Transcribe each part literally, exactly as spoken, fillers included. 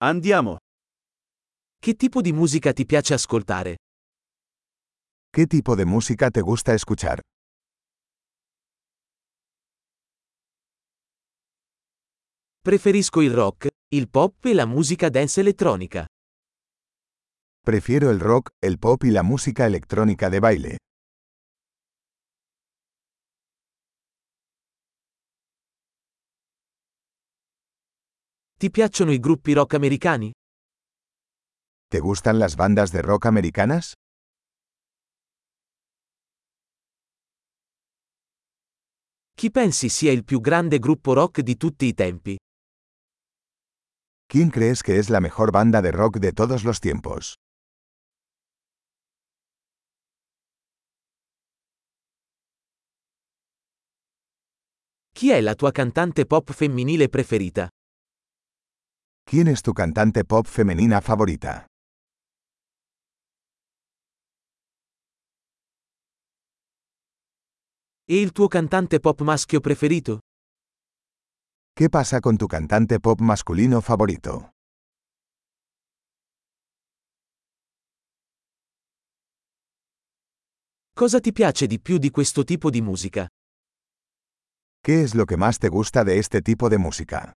Andiamo. Che tipo di musica ti piace ascoltare? ¿Qué tipo de música te gusta escuchar? Preferisco il rock, il pop e la musica dance elettronica. Prefiero el rock, el pop y la música electrónica de baile. Ti piacciono i gruppi rock americani? ¿Te gustan las bandas de rock americanas? Chi pensi sia il più grande gruppo rock di tutti i tempi? ¿Quién crees que es la mejor banda de rock de todos los tiempos? Chi è la tua cantante pop femminile preferita? ¿Quién es tu cantante pop femenina favorita? E il tuo cantante pop maschio preferito? ¿Qué pasa con tu cantante pop masculino favorito? Cosa ti piace di più di questo tipo di musica? ¿Qué es lo que más te gusta de este tipo de música?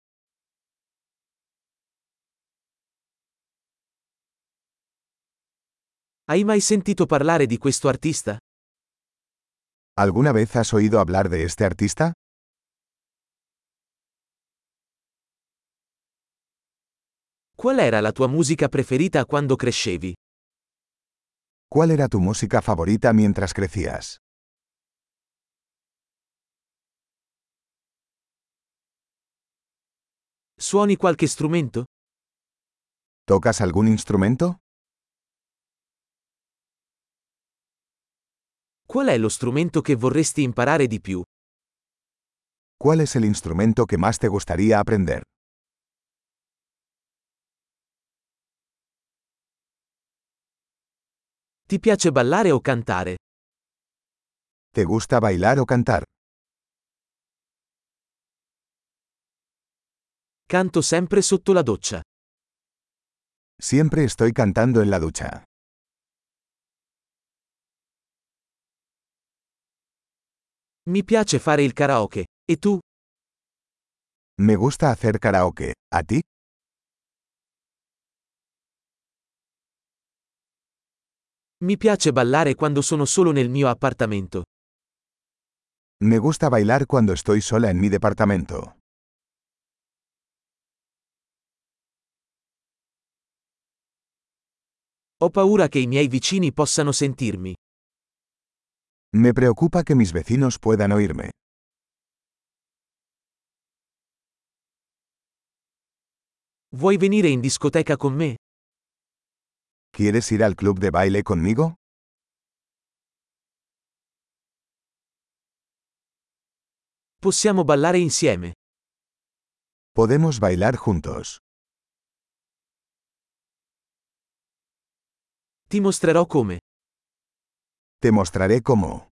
Hai mai sentito parlare di questo artista? ¿Alguna vez has oído hablar de este artista? Qual era la tua musica preferita quando crescevi? ¿Cuál era tu música favorita mientras crecías? Suoni qualche strumento? ¿Tocas algún instrumento? Qual è lo strumento che vorresti imparare di più? ¿Cuál es el instrumento que más te gustaría aprender? Ti piace ballare o cantare? ¿Te gusta bailar o cantar? Canto sempre sotto la doccia. Siempre estoy cantando en la ducha. Mi piace fare il karaoke. E tu? Me gusta hacer karaoke. ¿A ti? Mi piace ballare quando sono solo nel mio appartamento. Me gusta bailar cuando estoy sola en mi departamento. Ho paura che i miei vicini possano sentirmi. Me preocupa que mis vecinos puedan oírme. Vuoi venire in discoteca con me? ¿Quieres ir al club de baile conmigo? Possiamo ballare insieme. Podemos bailar juntos. Ti mostrerò come. Te mostraré cómo.